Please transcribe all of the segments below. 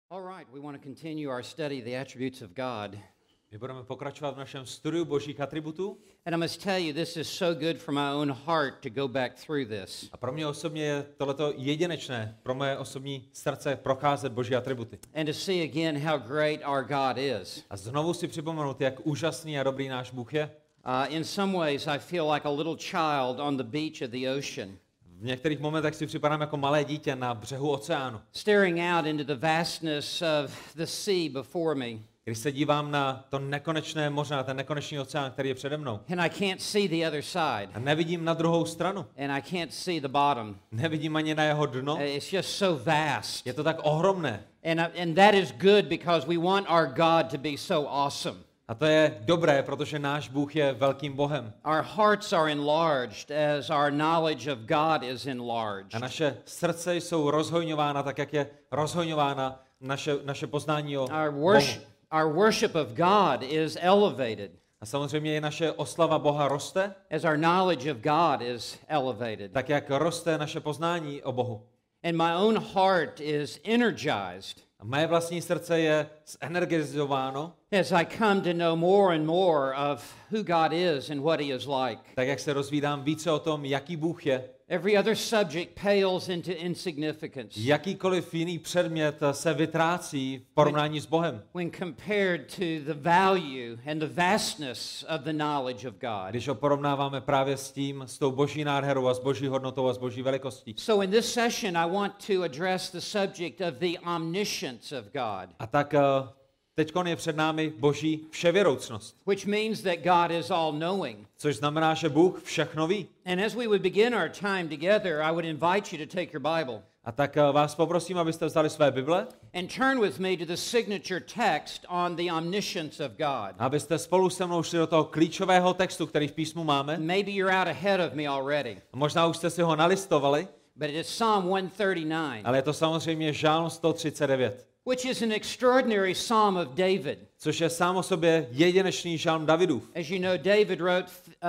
All right, we want to continue our study of the attributes of God. My budeme pokračovat v našem studiu božích atributů. And I must tell you, this is so good for my own heart to go back through this. A pro mě osobně je tohleto jedinečné, pro moje osobní srdce procházet boží atributy. And to see again how great our God is. A znovu si připomenout, jak úžasný a dobrý náš Bůh je. In some ways, I feel like a little child on the beach of the ocean. V některých momentech si připadám jako malé dítě na břehu oceánu. Staring out into the vastness of the sea before me. Když se dívám na to nekonečné moře, na ten nekonečný oceán, který je přede mnou. And I can't see the other side. A nevidím na druhou stranu. And I can't see the bottom. Nevidím ani na jeho dno. It's just so vast. Je to tak ohromné. And that is good because we want our God to be so awesome. A to je dobré, protože náš Bůh je velkým Bohem. Our hearts are enlarged as our knowledge of God is enlarged. A naše srdce jsou rozhojňována tak, jak je rozhojňována naše poznání o Bohu. Our worship of God is elevated. A samozřejmě i naše oslava Boha roste. As our knowledge of God is elevated. Tak, jak roste naše poznání o Bohu. And my own heart is energized. A moje vlastní srdce je zenergizováno. As I come to know more and more of who God is and what he is like. Tak, jak se rozvídám více o tom, jaký Bůh je. Every other subject pales into insignificance. Jakýkoliv jiný předmět se vytrácí v porovnání s Bohem. When compared to the value and the vastness of the knowledge of God. Když ho porovnáváme právě s tou boží nádherou a s boží hodnotou a s boží velikostí. So in this session I want to address the subject of the omniscience of God. A tak teďkon je před námi boží vševěroucnost. Which means that God is all-knowing. Což znamená, že Bůh všechno ví. And as we would begin our time together, I would invite you to take your Bible. A tak vás poprosím, abyste vzali své Bible. And turn with me to the signature text on the omniscience of God. Abyste spolu se mnou šli do toho klíčového textu, který v písmu máme. Maybe you're out ahead of me already. Možná už jste si ho nalistovali. But it is Psalm 139. Ale je to samozřejmě Žálm 139. Which is an extraordinary psalm of David. Což je sám o sobě jedinečný žálm Davidův. As you know, David wrote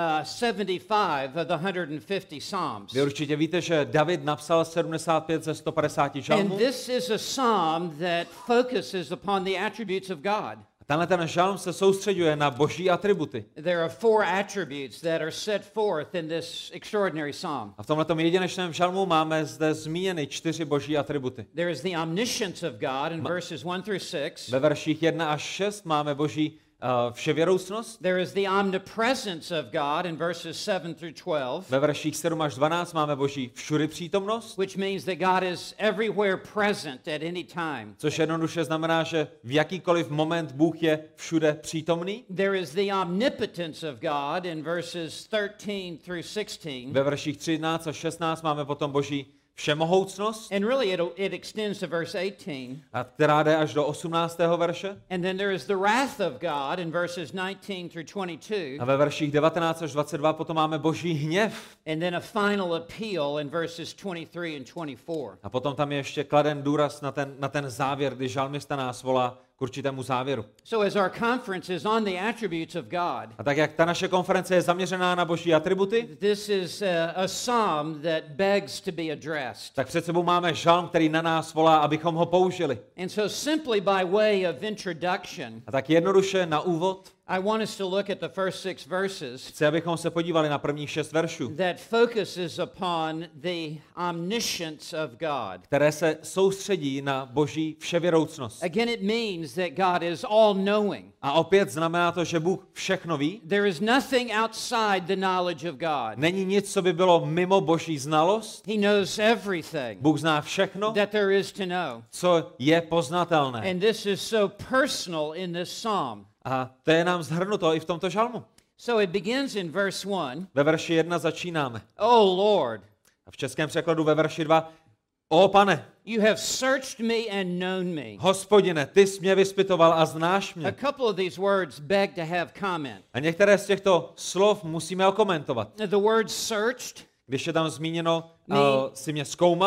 75 of the 150 psalms. Vy určitě víte, že David napsal 75 ze 150 žálmů. And this is a psalm that focuses upon the attributes of God. Tenhle ten žálm se soustředuje na boží atributy. There are 4 attributes that are set forth in this extraordinary psalm. A v tomhletom jedinečném žálmu máme zde zmíněny 4 boží atributy. There is the omniscience of God in verses 1 through 6. Ve verších 1 až 6 máme boží vševěroucnost. There is the omnipresence of God in verses 7 through 12. Ve verších 7 až 12 máme boží všudy přítomnost. Which means that God is everywhere present at any time. Což jednoduše znamená, že v jakýkoliv moment Bůh je všude přítomný. There is the omnipotence of God in verses 13 through 16. Ve verších 13 až 16 máme potom boží všemohoucnost. And really it extends to verse 18. A která jde až do 18. verše. And then there is the wrath of God in verses 19 through 22. A ve verších 19 až 22 potom máme boží hněv. And then a final appeal in verses 23 and 24. A potom tam je ještě kladen důraz na ten závěr, kdy žalmista nás volá k určitému závěru. So as our conference is on the attributes of God. A tak jak ta naše konference je zaměřená na boží atributy, this is a psalm that begs to be addressed. Tak před sebou máme žalm, který na nás volá, abychom ho použili. And so simply by way of introduction. A tak jednoduše na úvod I want us to look at the first 6 verses. Chci, abychom se podívali na prvních 6 veršů. That focuses upon the omniscience of God. Které se soustředí na boží vševěroucnost. Again it means that God is all knowing. A opět znamená to, že Bůh všechno ví. There is nothing outside the knowledge of God. Není nic, co by bylo mimo boží znalost. He knows everything. Bůh zná všechno, that there is to know. Co je poznatelné. And this is so personal in this psalm. A to je nám zhrnuto i v tomto žalmu. So it begins in verse 1. Ve verši 1 začínáme. Oh Lord. A v českém překladu ve verši 2. O Pane. You have searched me and known me. Hospodine, ty jsi mě vyspytoval a znáš mě. A couple of these words beg to have comment. A některé z těchto slov musíme okomentovat. The word searched. Když je tam zmíněno, jsi mě zkoumal.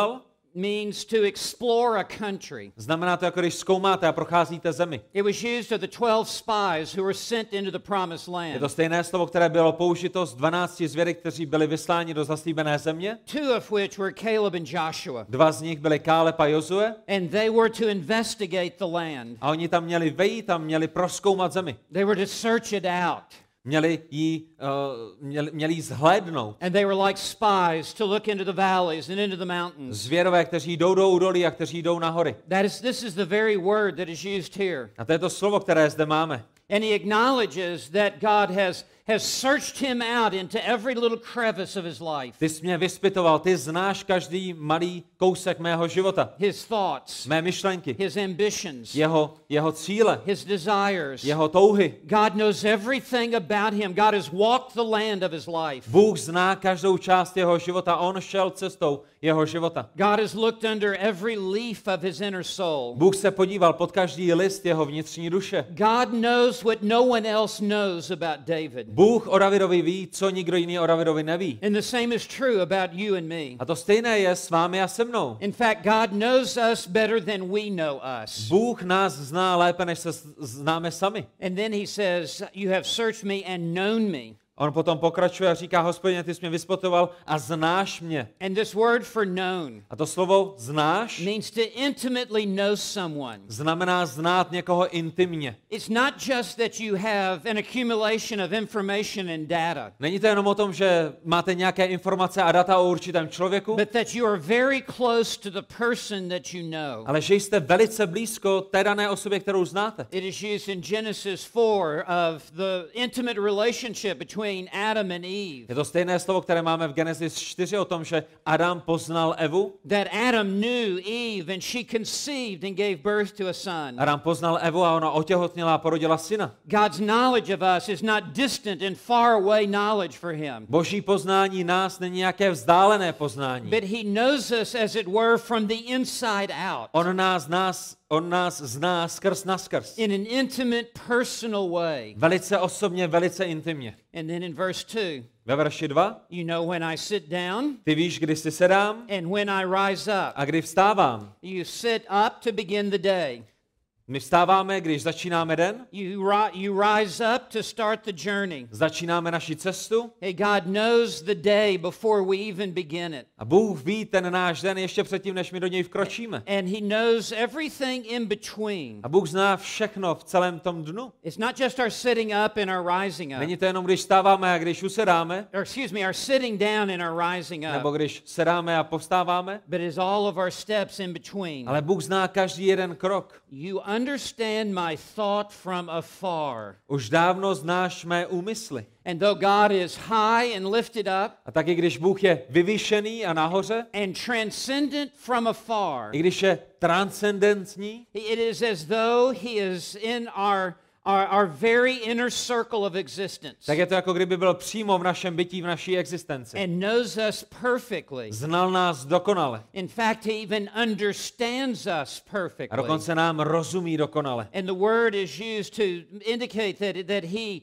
means to explore a country. Znamená to, jako když zkoumáte a procházíte zemi. It was used of the 12 spies who were sent into the promised Je land. to stejné slovo, které bylo použito z 12 zvěry, kteří byli vysláni do zaslíbené země. Two of which were Caleb and Joshua. Dva z nich byli Káleb a Jozue. And they were to investigate the land. A oni tam měli vejít a měli prozkoumat zemi. They were to search it out. Měli jí zhlédnout. And they were like spies to look into the valleys and into the mountains. Zvěrové, kteří jdou do údolí a kteří jdou na hory. This is the very word that is used here. A to je to slovo, které zde máme. And he acknowledges that God has searched him out into every little crevice of his life. Ty jsi mě vyspytoval, ty znáš každý malý kousek mého života. His thoughts, Mé myšlenky, his ambitions, jeho cíle, his desires. jeho touhy. God knows everything about him. God has walked the land of his life. Bůh zná každou část jeho života, on šel cestou jeho života. God has looked under every leaf of his inner soul. Bůh se podíval pod každý list jeho vnitřní duše. God knows what no one else knows about David. Bůh o Davidovi ví, co nikdo jiný o Davidovi neví. And the same is true about you and me. A to stejné je s vámi a se mnou. In fact, God knows us better than we know us. Bůh nás zná lépe, než se známe sami. And then he says, you have searched me and known me. On potom pokračuje a říká, Hospodine, ty jsi mě vyspotoval a znáš mě. And this word for known A to slovo znáš means to intimately know someone. znamená znát někoho intimně. It's not just that you have an accumulation of information and data, Není to jenom o tom, že máte nějaké informace a data o určitém člověku, but that you are very close to the person that you know. ale že jste velice blízko té dané osobě, kterou znáte. It is used in Genesis 4 of the intimate relationship between Adam and Eve. Je to stejné slovo, které máme v Genesis 4 o tom, že Adam poznal Evu. That Adam knew Eve and she conceived and gave birth to a son. Adam poznal Evu a ona otěhotněla a porodila syna. God's knowledge of us is not distant and far away knowledge for him. Boží poznání nás není nějaké vzdálené poznání. But he knows us as it were from the inside out. On nás zná skrz naskrz. In an intimate, personal way. Velice osobně, velice intimně. And then in verse 2, Ve verši 2, you know when I sit down ty víš, kdy si sedám and when I rise up. a kdy vstávám. You sit up to begin the day. My vstáváme, když začínáme den, You rise up to start the journey. začínáme naši cestu Hey, God knows the day before we even begin it. a Bůh ví ten náš den ještě předtím, než my do něj vkročíme. And he knows everything in between. A Bůh zná všechno v celém tom dnu. It's not just our sitting up and our rising up. Není to jenom, když vstáváme a když usedáme, Our sitting down and our rising nebo up. když sedáme a povstáváme, But it's all of our steps in between. ale Bůh zná každý jeden krok. You understand my thought from afar. Už dávno znáš mé úmysly. And though God is high and lifted up A taky když Bůh je vyvýšený a nahoře, and transcendent from afar, i když je transcendentní, it is as though he is in our very inner circle of existence tak je to jako kdyby byl přímo v našem bytí, v naší existenci. and knows us perfectly. Znal nás dokonale. In fact, he even understands us A perfectly. dokonce nám rozumí dokonale. And the word is used to indicate that he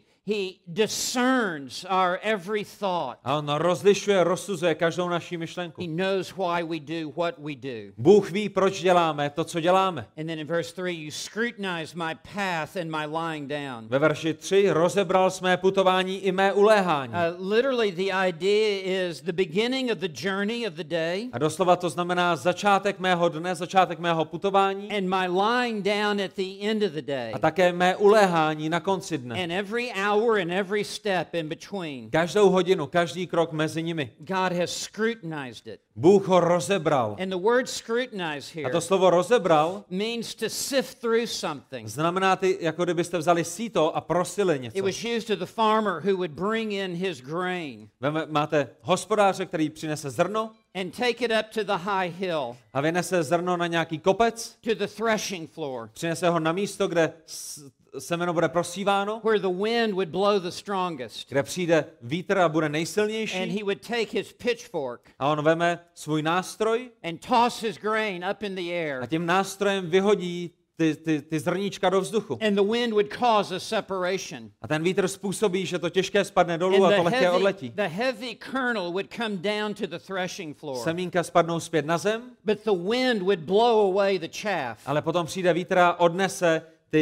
discerns our every thought. A on rozlišuje, rozsuzuje každou naši myšlenku. He knows why we do what we do. Bůh ví, proč děláme to, co děláme. And then in verse 3, you scrutinize my path and my lying down. Ve verši 3 rozebral mé putování i mé uléhání. Literally, the idea is the beginning of the journey of the day A doslova to znamená začátek mého dne, začátek mého putování and my lying down at the end of the day. a také mé uléhání na konci dne. And every hour and every step in between. Každou hodinu, každý krok mezi nimi. God has scrutinized it. Bůh ho rozebral. And the word scrutinize A here to slovo rozebral means to sift through something. znamená, jako kdybyste vzali síto a prosili It něco. was used to the farmer who would bring in his grain Máte hospodáře, který přinese zrno and take it up to the high hill, a vynese zrno na nějaký kopec, to the threshing floor, přinese ho na místo, kde semeno bude prosíváno, where the wind would blow the strongest. kde přijde vítr a bude And nejsilnější he would take his pitchfork a on veme svůj nástroj and toss his grain up in the a air. tím nástrojem vyhodí ty zrníčka do vzduchu. And the wind would cause a separation. A ten vítr způsobí, že to těžké spadne dolů a to lehké odletí. The heavy kernel would come down to the threshing floor. Semínka spadnou zpět na zem, But the wind would blow away the chaff. ale potom přijde vítr a odnese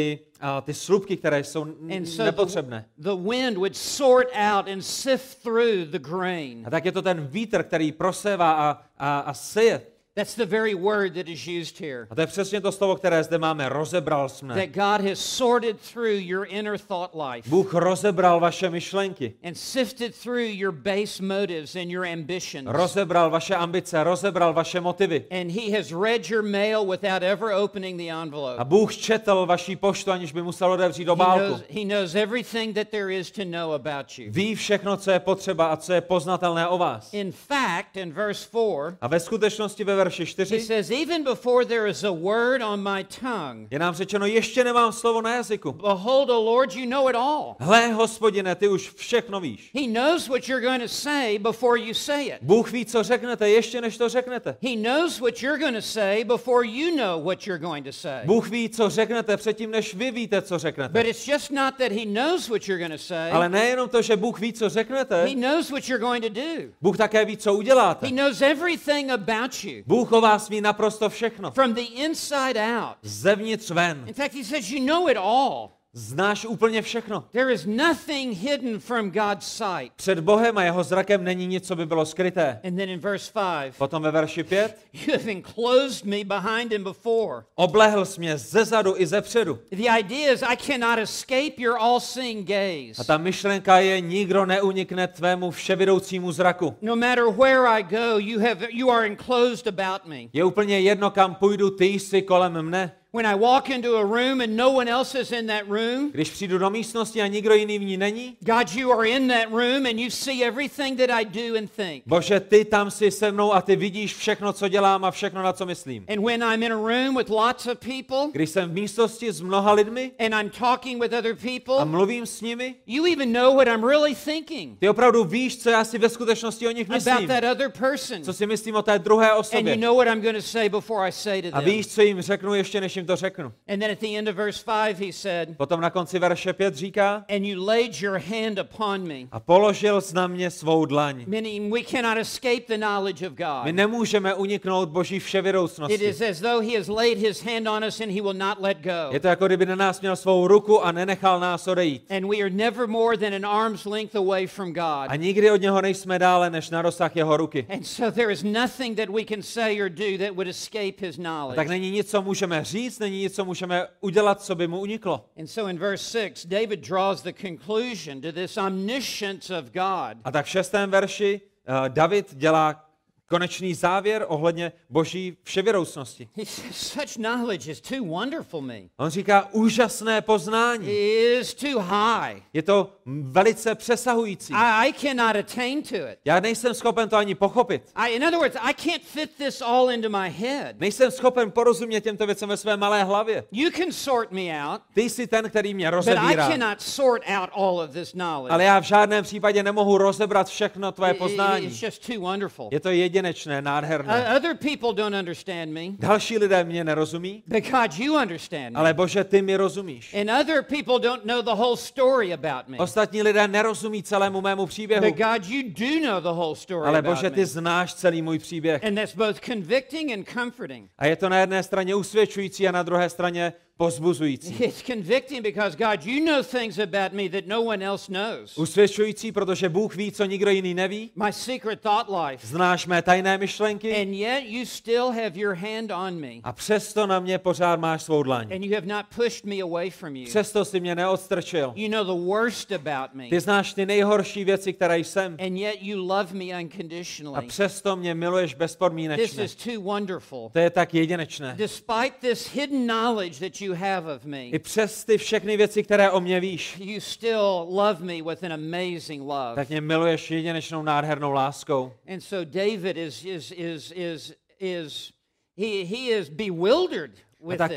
ty slupky, které jsou nepotřebné. The wind would sort out and sift through the grain. A tak je to ten vítr, který prosévá a seje. That's the very word that is used here. A to je přesně to slovo, které zde máme. Rozebral jsme. That God has sorted through your inner thought life. Bůh rozebral vaše myšlenky. And sifted through your base motives and your ambitions. Rozebral vaše ambice, rozebral vaše motivy. And he has read your mail without ever opening the envelope. A Bůh četl vaší poštu, aniž by musel otevřít obálku. He knows everything that there is to know about you. Ví všechno, co je potřeba a co je poznatelné o vás. In fact, in verse 4, A ve skutečnosti ve verši he 4 says, even before there is a word on my tongue, je nám řečeno, ještě nemám slovo na jazyku. behold, O Lord, you know it all. Hle, Hospodine, ty už všechno víš. He knows what you're going to say before you say it. Bůh ví, co řeknete, ještě než to řeknete. He knows what you're going to say before you know what you're going to say. Bůh ví, co řeknete, předtím, než vy víte, co řeknete. But it's just not that he knows what you're going to say. Ale nejenom to, že Bůh ví, co řeknete, He knows what you're going to do. Bůh také ví, co uděláte. He knows everything about you. Bůh o vás ví naprosto všechno. From the inside out. Zevnitř ven. In fact, he says, you know it all. Znáš úplně všechno. There is nothing hidden from God's sight. Před Bohem a jeho zrakem není nic, co by bylo skryté. And then in verse 5, Potom ve verši 5. you have enclosed me behind and before. Oblehl jsi mě zezadu i zepředu. The idea is I cannot escape your all-seeing gaze. A ta myšlenka je, nikdo neunikne tvému vševidoucímu zraku. No matter where I go, you are enclosed about me. Je úplně jedno, kam půjdu, ty jsi kolem mne. When I walk into a room and no one else is in that room, Když přijdu do místnosti a nikdo jiný v ní není, God, you are in that room and you see everything that I do and think. Bože, ty tam jsi se mnou a ty vidíš všechno, co dělám a všechno, na co myslím. And when I'm in a room with lots of people Když jsem v místnosti s mnoha lidmi and I'm talking with other a people, mluvím s nimi, you even know what I'm really thinking ty opravdu víš, co já si ve skutečnosti o nich about myslím. that other person. Co si myslím o té druhé And you osobě. know what I'm going to say before I say to A them. víš, co jim řeknu, ještě než jim to řeknu. And then at the end of verse 5 he said, Potom na konci verše 5 říká, and you laid your hand upon me. a položil jsi na mě svou dlaň. Meaning we cannot escape the knowledge of My God. nemůžeme uniknout Boží It vševědoucnosti. is as though he has laid his hand on us and he will not let go. Je to jako kdyby na nás měl svou ruku a nenechal nás odejít. And we are never more than an arm's length away from God. A nikdy od něho nejsme dále než na rozsah jeho ruky. And so there is nothing that we can say or do that would escape his A knowledge. tak není nic, co můžeme říct, není nic, co můžeme udělat, co by mu uniklo. And so in verse 6, David draws the conclusion to this omniscience of God. A tak v 6. verši David dělá konečný závěr ohledně Boží vševědoucnosti. He says, such knowledge is too wonderful me. On říká úžasné poznání. It is too high. Je to velice přesahující. I cannot attain to it. Já nejsem schopen to ani pochopit. In other words, I can't fit this all into my head. Nejsem schopen porozumět těmto věcem ve své malé hlavě. You can sort me out, Ty jsi ten, který mě but I rozebírá. cannot sort out all of this knowledge. Ale já v žádném případě nemohu rozebrat všechno tvoje poznání. It's just too wonderful. Je to jedinečné, nádherné. Other people don't understand me, Další lidé mě nerozumí, but God, you understand me. ale Bože, ty mi rozumíš. And other people don't know the whole story about me, Ostatní lidé nerozumí celému mému příběhu, but God, you do know the whole story ale about Bože, me. ty znáš celý můj příběh. And that's both convicting and comforting. A je to na jedné straně usvědčující a na druhé straně povzbuzující. It's convicting because God, you know things about me that no one else knows. Usvědčující, protože Bůh ví, co nikdo jiný neví. My secret thought life. Znáš mé tajné myšlenky And yet you still have your hand on me. a přesto na mě pořád máš svou dlaň. And you have not pushed me away from you. Přesto si mě neodstrčil. You know the worst about me. Ty znáš ty nejhorší věci, které jsem. And yet you love me A unconditionally. přesto mě miluješ This bezpodmínečně. is too wonderful. To je tak jedinečné. Despite this hidden knowledge that you have of me, I přes ty všechny věci, které o mě víš, you still love me with an amazing love. tak mě miluješ jedinečnou nádhernou láskou. And so David he is bewildered with tak this.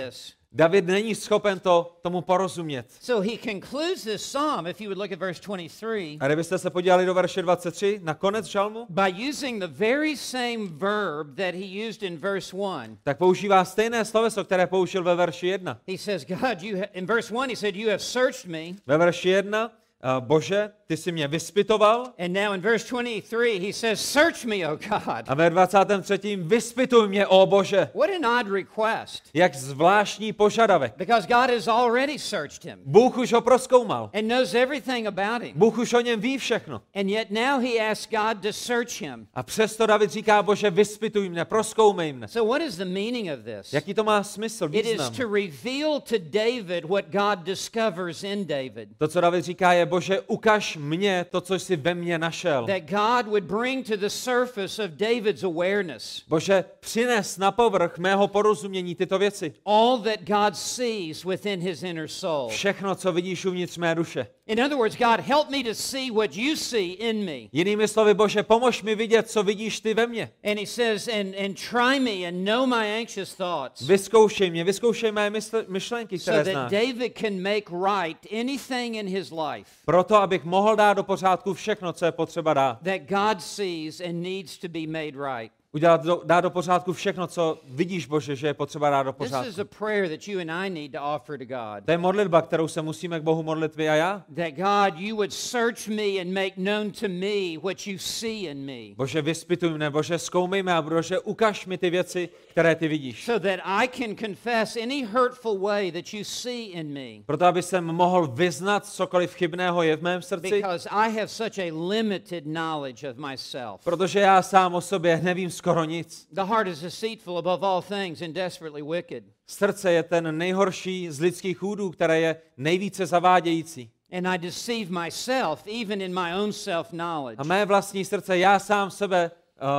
David není schopen tomu porozumět. So he concludes this psalm, if you would look at verse 23, A kdybyste se podívali do verše 23, na konec žalmu, by using the very same verb that he used in verse 1. tak používá stejné sloveso, které použil ve verši 1. He says, God, in verse 1 he said, you have searched me. Ve verši 1, Bože, ty jsi mě vyspitoval. And now in verse 23 he says, search me, O God. A ve 23. vyspituj mě, ó Bože. What an odd request. Jak zvláštní požadavek. Because God has already searched him Bůh už ho prozkoumal. and knows everything about him. Bůh už o něm ví všechno. And yet now he asks God to search him. A přesto David říká, Bože, vyspituj mě, prozkoumej mne. So what is the meaning of this? Jaký to má smysl, It is význam? to reveal to David what God discovers in David. To, co David říká, je, Bože, ukaž mně to, co jsi ve mně našel. That God would bring to the surface of David's awareness Bože, přines na povrch mého porozumění tyto věci. all that God sees within his inner soul. Všechno, co vidíš uvnitř mé duše. In other words, God, help me to see what you see in me. Jinými slovy, Bože, pomož mi vidět, co vidíš ty ve mně. And he says, and try me and know my anxious thoughts, Vyzkoušej mé myšlenky, so které that znáš. David can make right anything in his life Proto, abych mohl dát do pořádku všechno, co je potřeba dát. that God sees and needs to be made right. Dát do pořádku všechno, co vidíš, Bože, že je potřeba dát do This is pořádku. a prayer that you and I need to offer to God. To je modlitba, kterou se musíme k Bohu modlit vy a já. That God, you would search me and make known to me what you see in me, Bože, vyspituj mne, Bože, zkoumej mě a Bože, ukaž mi ty věci, které ty vidíš. so that I can confess any hurtful way that you see in me. Proto, aby jsem mohl vyznat cokoliv chybného je v mém srdci, Because I have such a limited knowledge of myself. protože já sám o sobě nevím skoro nic. The heart is deceitful above all things and desperately wicked. Srdce je ten nejhorší z lidských údů, které je nejvíce zavádějící. And I deceive myself even in my own A self-knowledge. mé vlastní srdce, já sám sebe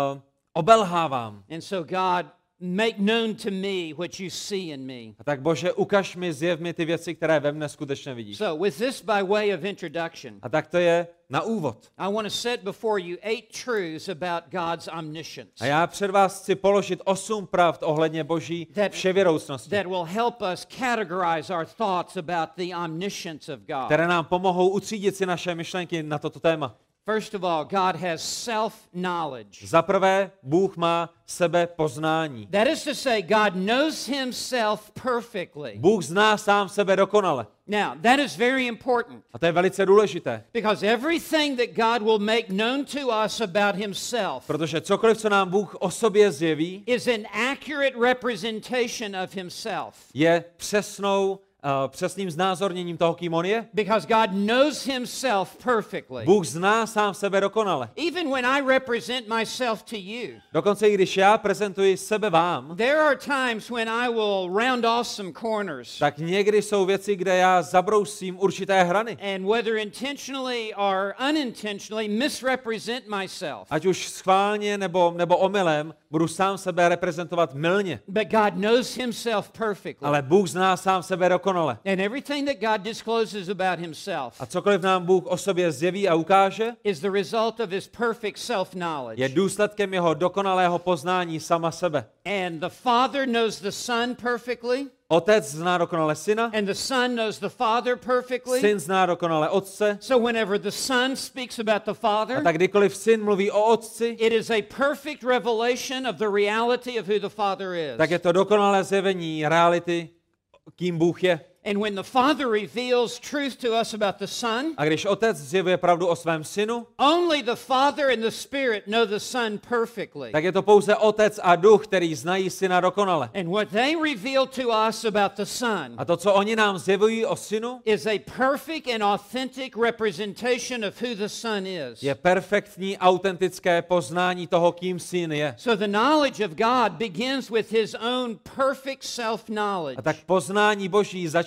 obelhávám. And so God, make known to me what you see in me. A tak Bože, ukaž mi, zjev mi ty věci, které ve mne skutečně vidíš. So with this by way of introduction, A tak to je na úvod. I want to set before you 8 truths about God's omniscience A já před vás chci položit 8 pravd ohledně Boží vševěroucnosti, that will help us categorize our thoughts about the omniscience of God. které nám pomohou utřídit si naše myšlenky na toto téma. First of all, God has self-knowledge. Za prvé, Bůh má sebepoznání. That is to say, God knows himself perfectly. Bůh zná sám sebe dokonale. Now, that is very important A to je velice důležité, because everything that God will make known to us about himself protože cokoliv, co nám Bůh o sobě zjeví, is an accurate representation of himself. je přesným znázorněním toho, kým on je. Because God knows himself perfectly. Bůh zná sám sebe dokonale. Even when I represent myself to you, Dokonce i když já prezentuji sebe vám, there are times when I will round off some corners. tak někdy jsou věci, kde já zabrousím určité hrany. And whether intentionally or unintentionally misrepresent myself. Ať už schválně nebo omylem, budu sám sebe reprezentovat mylně. But God knows himself perfectly. Ale Bůh zná sám sebe dokonale. And everything that God discloses about himself A cokoliv nám Bůh o sobě zjeví a ukáže, is the result of his perfect self-knowledge. je důsledkem jeho dokonalého poznání sama sebe. And the Father knows the Son perfectly, Otec zná dokonale syna, and the Son knows the Father perfectly. syn zná dokonale otce, So whenever the Son speaks about the a Father, tak kdykoliv syn mluví o otci, it is a perfect revelation of the reality of who the Father is. tak je to dokonalé zjevení reality, kým Bůh je. And when the Father reveals truth to us about the Son, A když otec zjevuje pravdu o svém synu, only the Father and the Spirit know the Son perfectly. tak je to pouze otec a duch, který znají syna dokonale. And what they reveal to us about the Son A to, co oni nám zjevují o synu, is a perfect and authentic representation of who the Son is. je perfektní, autentické poznání toho, kým syn je. So the knowledge of God begins with his own perfect self-knowledge. A tak poznání Boží začíná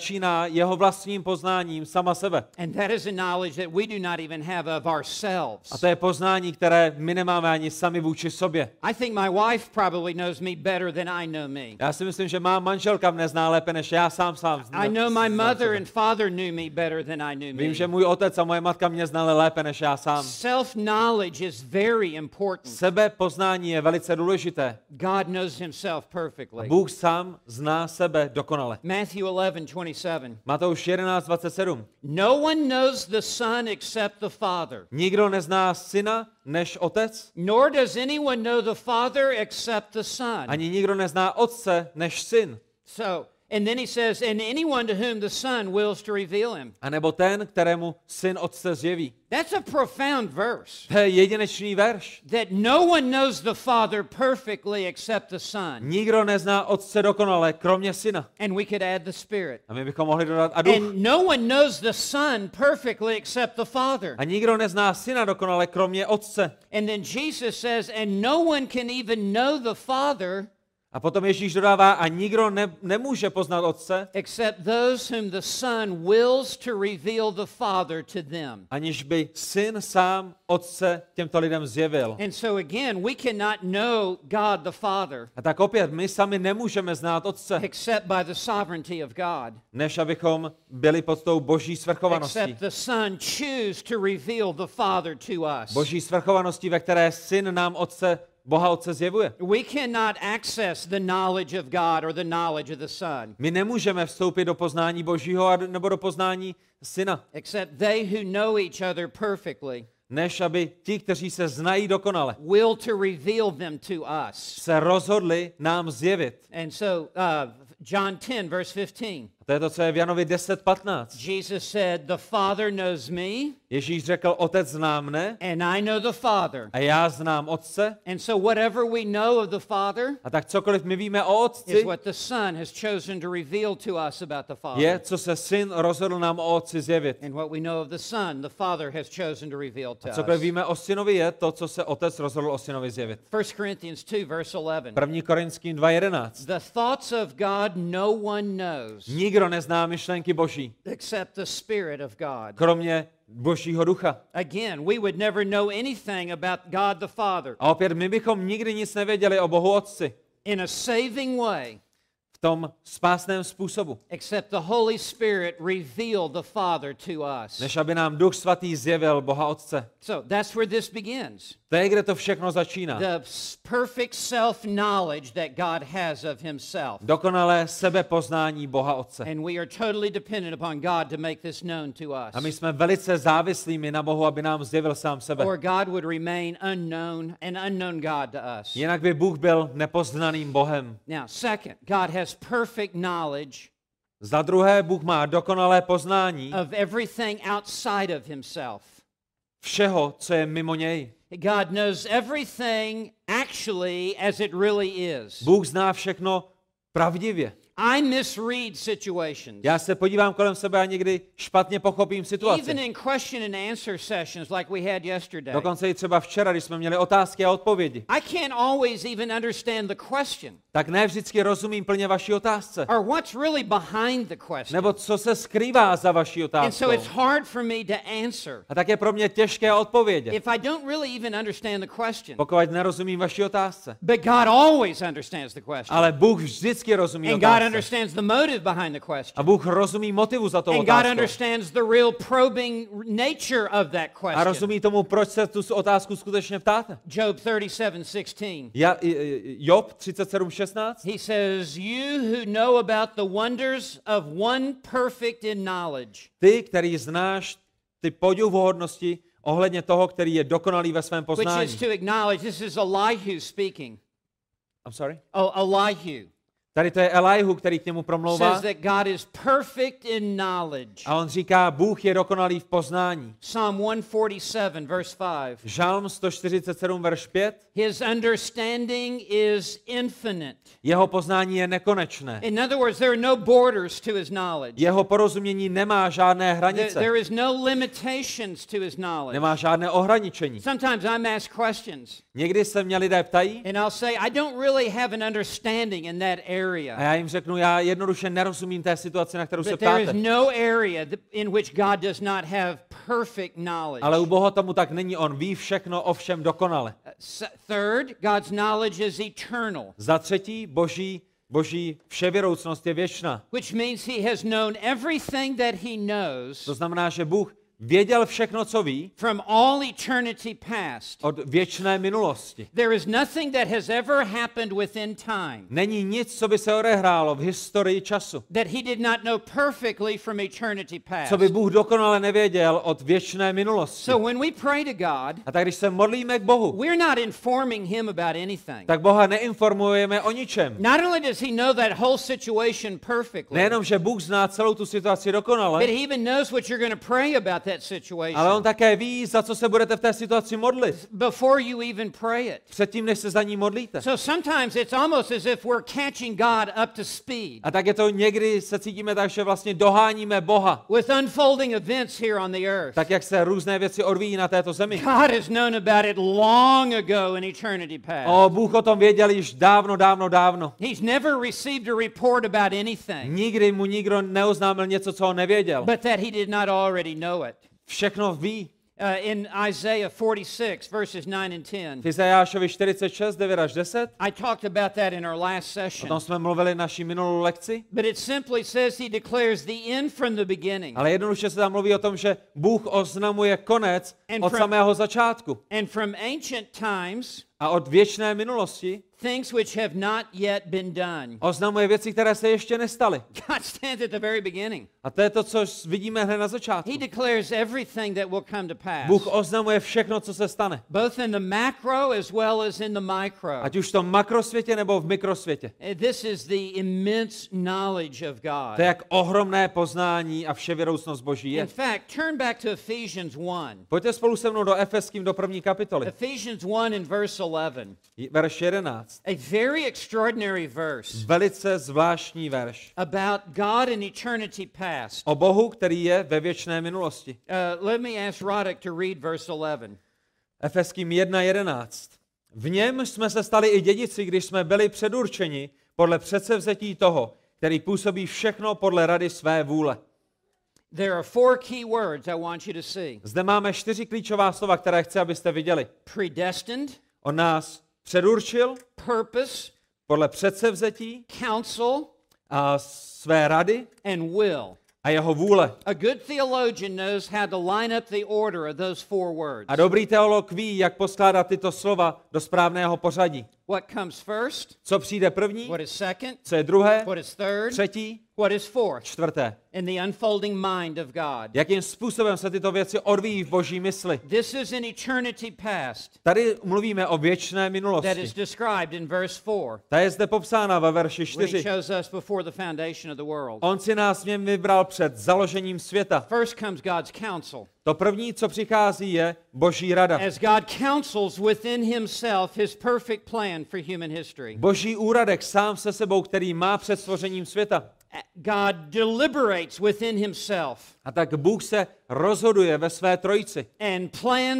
začíná jeho vlastním poznáním sama sebe. And that is a knowledge that we do not even have of ourselves. A to je poznání, které my nemáme ani sami vůči sobě. I think my wife probably knows me better than I know me. Já si myslím, že má manželka mne zná lépe, než já sám I know my mother and father knew me better than I knew me. Vím, že můj otec a moje matka mě znali lépe, než já sám. Self-knowledge is very important. Sebepoznání je velice důležité. God knows himself perfectly. Bůh sám zná sebe dokonale. Matthew 11:27. Matouš 11:27. No one knows the Son except the Father. Nikdo nezná syna než otec, Nor does anyone know the Father except the Son. ani nikdo nezná otce než syn. So, and then he says, and anyone to whom the Son wills to reveal him. A nebo ten, kterému syn otce zjeví. That's a profound verse. To je jedinečný verš. That no one knows the Father perfectly except the Son. Nikdo nezná otce dokonale, kromě syna. And we could add the Spirit. A my bychom mohli dodat a duch. And no one knows the Son perfectly except the Father. A nikdo nezná syna dokonale, kromě otce. And then Jesus says, and no one can even know the Father A potom Ježíš dodává, a nikdo nemůže poznat otce, except those whom the Son wills to reveal the Father to them. aniž by syn sám otce těmto lidem zjevil. And so again, we cannot know God the Father A tak opět, my sami nemůžeme znát otce, except by the sovereignty of God. než abychom byli pod tou boží svrchovaností. Except the Son choose to reveal the Father to us. Boží svrchovaností, ve které syn nám otce, Boha otce zjevuje. We cannot access the knowledge of God or the knowledge of the Son My nemůžeme vstoupit do poznání Božího nebo do poznání syna, except they who know each other perfectly než aby ti, kteří se znají dokonale, will to reveal them to us. se rozhodli nám zjevit. And so John 10 verse 15. A to je to, co je v Janovi 10:15. Jesus said, the Father knows me Ježíš řekl, otec zná mne and I know the Father. a já znám otce. And so whatever we know of the Father A tak cokoliv my víme o is otci, what the Son has chosen to reveal to us about the Father. je, co se syn rozhodl nám o otci zjevit. And what we know of the Son, the Father has chosen to reveal to A cokoliv us. víme o synovi, je to, co se otec rozhodl o synovi zjevit. 1 Corinthians 2 verse 11. 1. Korinským 2:11. The thoughts of God no one knows Nikdo nezná myšlenky Boží, except the Spirit of God. kromě Božího ducha. Again, we would never know anything about God the Father A opět, my bychom nikdy nic nevěděli o Bohu Otci in a saving way v tom spásném způsobu, except the Holy Spirit revealed the Father to us. než aby nám Duch Svatý zjevil Boha Otce. So that's where this begins. To je, kde to všechno začíná. The perfect self-knowledge that God has of himself. Dokonalé sebepoznání Boha Otce. And we are totally dependent upon God to make this known to us. A my jsme velice závislými na Bohu, aby nám zjevil sám sebe. Or God would remain unknown, an unknown God to us. Jinak by Bůh byl nepoznaným Bohem. Now, second, God has perfect knowledge Za druhé, Bůh má dokonalé poznání of everything outside of himself. všeho, co je mimo něj. God knows everything actually as it really is. Bůh zná všechno pravdivě. I misread situations. Já se podívám kolem sebe a někdy špatně pochopím Even situaci. in question and answer sessions like we had yesterday. Dokonce i třeba včera, když jsme měli otázky a odpovědi. I can't always even understand the question Tak ne vždycky rozumím plně vaší otázce. or what's really behind the question. Nebo co se skrývá za vaší And otázkou. so it's hard for me to answer A tak je pro mě těžké odpovědět, if I don't really even understand the question. pokud nerozumím vaší otázce. But God always understands the question. Ale Bůh vždycky rozumí And God otázce. understands the motive behind the question. A Bůh rozumí motivu za tou And God otázkou. understands the real probing nature of that A question. rozumí tomu, proč se tu otázku skutečně ptáte. Job 37:16. Job 37:16. He says, "You who know about the wonders of one perfect in knowledge." Ty, který znáš ty podivuhodnosti ohledně toho, který je dokonalý ve svém Which poznání. is to acknowledge this is Elihu speaking. I'm sorry? Oh, Elihu Tady to je Elihu, který k němu promlouvá. says that God is perfect in knowledge. A on říká, Bůh je dokonalý v poznání. Psalm 147 verse 5. Žalm 147, verš 5. His understanding is infinite. Jeho poznání je nekonečné. In other words, there are no borders to his knowledge. Jeho porozumění nemá žádné hranice. There is no limitations to his knowledge. Nemá žádné ohraničení. Sometimes I'm asked questions Někdy se mě lidé ptají and I'll say, I don't really have an understanding in that area. area. A já jim řeknu, já jednoduše nerozumím té situaci, na kterou se But there is ptáte. no area in which God does not have perfect knowledge. Ale u Boha tomu tak není, on ví všechno o všem dokonale. Third, God's knowledge is eternal. Za třetí, boží vševěroucnost je věčná. Which means he has known everything that he knows To znamená, že Bůh věděl všechno, co ví, from all eternity past. od věčné minulosti. There is nothing that has ever happened within time Není nic, co by se odehrálo v historii času, that he did not know perfectly from eternity past. co by Bůh dokonale nevěděl od věčné minulosti. So when we pray to God, A tak když se modlíme k Bohu, we're not informing him about anything. tak Boha neinformujeme o ničem. Not only does he know that whole situation perfectly, Nejenom, že Bůh zná celou tu situaci but dokonale, he even knows what you're going to pray about that ale situation on také ví, za co se budete v té situaci modlit. before you even pray it. Předtím, než se za ní modlíte. So sometimes it's almost as if we're catching God up to speed A tak je to někdy, se cítíme tak, že vlastně doháníme Boha. with unfolding events here on the earth. Tak, jak se různé věci odvíjí na této zemi. God has known about it long ago in eternity past. Bůh o tom věděl již dávno, dávno, dávno. He's never received a report about anything, Nikdy mu nikdo neoznámil něco, co on nevěděl. but that he did not already know it. Všechno ví. In Isaiah 46, verses 9 and 10, V Izajášovi 46, 9 až 10. I talked about that in our last O session. tom jsme mluvili naší minulou lekci. But it simply says he declares the end from the beginning. Ale jednoduše se tam mluví o tom, že Bůh oznamuje konec And od from- samého začátku. And from ancient times, A od věčné minulosti things which have not yet been done. oznamuje věci, které se ještě nestaly. God stands at the very beginning. A to je to, co vidíme hned na začátku. He declares everything that will come to pass, Bůh oznamuje všechno, co se stane. both in the macro as well as in the micro. Ať už v tom makrosvětě nebo v mikrosvětě. This is the immense knowledge of God. To je jak ohromné poznání a vševěroucnost Boží In je. fact, turn back to Ephesians 1. Pojďte spolu se mnou do Efeským do 1. kapitoly. Ephesians 1 and verse 11. Verš 11. A very extraordinary verse Velice zvláštní verš. about God in eternity past. O Bohu, který je ve věčné minulosti. Let me ask Roddick to read verse 11. Efeským 1.11. V něm jsme se stali i dědici, když jsme byli předurčeni podle předsevzetí toho, který působí všechno podle rady své vůle. There are four key words I want you to see. Zde máme 4 klíčová slova, které chci, abyste viděli. Predestined, On nás předurčil purpose, podle předsevzetí counsel, a své rady and will. a jeho vůle. A good theologian knows how to line up the order of those four words. A dobrý teolog ví, jak poskládat tyto slova do správného pořadí. What comes first? Co přijde první, What is second? co je druhé, What is third? třetí, What is fourth? čtvrté. In the unfolding mind of God. Jakým způsobem se tyto věci odvíjí v Boží mysli. This is in eternity past Tady mluvíme o věčné that is minulosti. described in verse 4 Ta je zde popsána ve verši when he 4. chose us before the foundation of the world. On si nás v něm vybral před založením světa. First comes God's counsel. To první, co přichází, je Boží rada. As God counsels within himself his perfect plan for human history. Boží úradek sám se sebou, který má před stvořením světa. God deliberates within himself A tak Bůh se rozhoduje ve své trojici and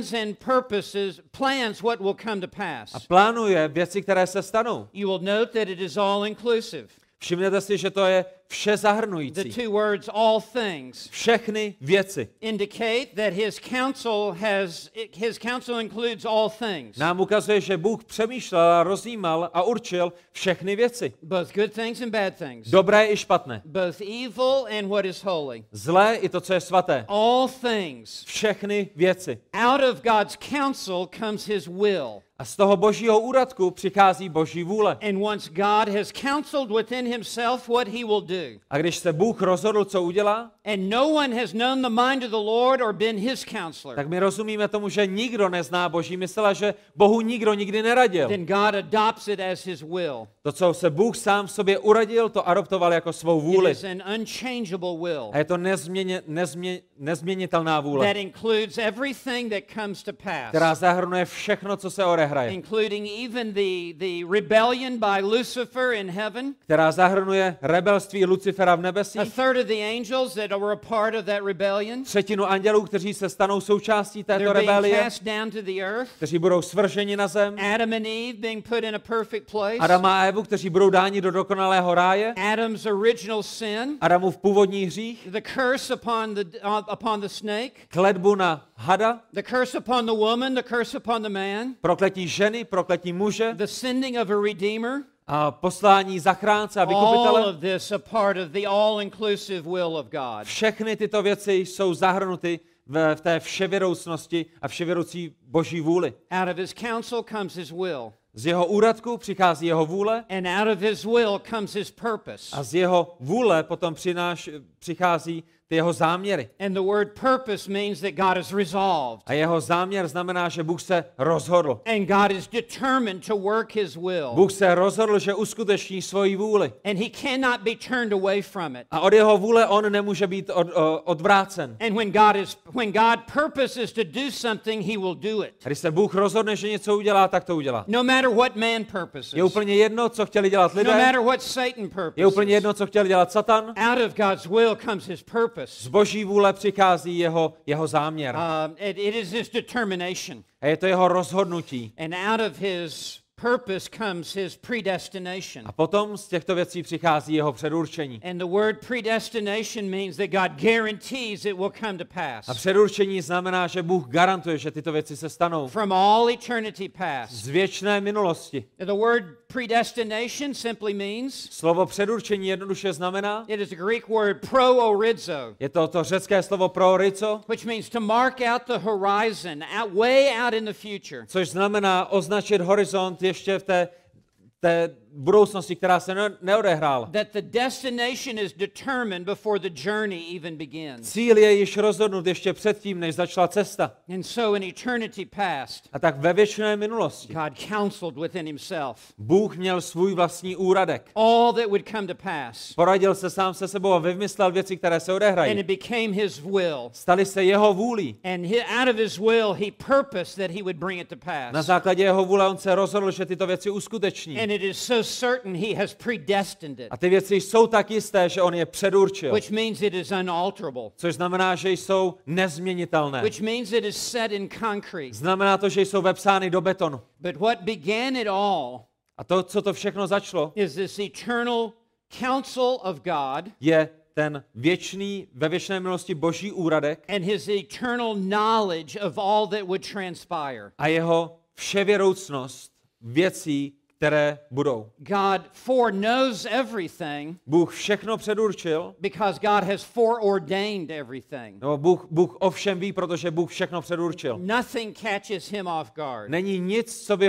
plans what will come to pass. a plánuje věci, které se stanou. You will note that it is all inclusive. Všimněte si, že to je vše The zahrnující. two words all things Všechny věci. indicate that his counsel includes all things. Nám ukazuje, že Bůh přemýšlel a rozjímal a určil všechny věci. Both good things and bad things. Dobré i špatné. Both evil and what is holy. Zlé i to, co je svaté. All things. Všechny věci. Out of God's counsel comes his will. A z toho Božího úradku přichází Boží vůle. And once God has counseled within himself what he will do, A když se Bůh rozhodl, co udělá, and no one has known the mind of the Lord or been his counselor, tak my rozumíme tomu, že nikdo nezná Boží mysl a že Bohu nikdo nikdy neradil. then God adopts it as his will. To, co se Bůh sám v sobě uradil, to adoptoval jako svou It vůli. is an unchangeable will A je to nezměnitelná vůle, that includes everything that comes to pass. která zahrnuje všechno, co se odehraje. odehraje, including even the rebellion by Lucifer in heaven, která zahrnuje rebelství Lucifera v nebesích, a third of the angels that were a part of that rebellion. třetinu andělů, kteří se stanou součástí této They're being rebelie, cast down to the earth. kteří budou svrženi na zem, Adam and Eve being put in a perfect place. Adama a Evu, kteří budou dáni do dokonalého ráje, Adam's original sin, Adamův původní hřích, the curse upon the snake, kletbu na hada, the curse upon the woman, the curse upon the man, prokletí ženy, prokletí muže the sending of a redeemer. a poslání zachránce a All vykupitele. of this a part of the all-inclusive will of God. Všechny tyto věci jsou zahrnuty v té vševědoucnosti a vševědoucí boží vůli. Out of his counsel comes his will, Z jeho úradku přichází jeho vůle and out of his will comes his purpose. a z jeho vůle potom přichází ty jeho záměry. And the word purpose means that God is resolved, A jeho záměr znamená, že Bůh se rozhodl. and God is determined to work his will, Bůh se rozhodl, že uskuteční svoji vůli. and he cannot be turned away from it. A od jeho vůle on nemůže být odvrácen. And when God purposes to do something, he will do it. A když se Bůh rozhodne, že něco udělá, tak to udělá. No matter what man purposes. Je úplně jedno, co chtěli dělat No lidé. matter what Satan Je úplně purposes. jedno, co chtěl dělat Satan. Out of God's will comes his purpose. Z boží vůle přichází jeho záměr. It is his determination. A je to jeho rozhodnutí. And out of his purpose comes his predestination. A potom z těchto věcí přichází jeho předurčení. And the word predestination means that God guarantees it will come to pass. A předurčení znamená, že Bůh garantuje, že tyto věci se stanou. From all eternity past. Z věčné minulosti. The word predestination simply means, Slovo předurčení jednoduše znamená, it is a Greek word pro-orizo, je to řecké slovo prorizo, which means to mark out the horizon, way out in the future. což znamená označit horizont ještě v té budoucnosti, která se neodehrála. That the destination is determined before the journey even begins. Cíl je již rozhodnut ještě předtím, než začala cesta. And so in eternity past, A tak ve věčné minulosti God counseled within himself Bůh měl svůj vlastní úradek. all that would come to pass. Poradil se sám se sebou a vymyslel věci, které se And odehrají. it became his will. Staly se jeho vůlí. And out of his will, he purposed that he would bring it to pass. Na základě jeho vůle on se rozhodl, že tyto věci uskuteční. And it is so certain he has predestined it, A ty věci jsou tak jisté, že on je předurčil. which means it is unalterable, Což znamená, že jsou nezměnitelné. which means it is set in concrete. Znamená to, že jsou vepsány do betonu. But what began it all A to, co to všechno začalo, is this eternal counsel of God je ten věčný, ve věčné milosti boží úradek and his eternal knowledge of all that would transpire. a jeho vševědoucnost věcí, které budou. God foreknows everything Bůh všechno předurčil, because God has foreordained everything. nebo Bůh o všem ví, protože Bůh všechno předurčil. Nothing catches him off guard. Není nic, co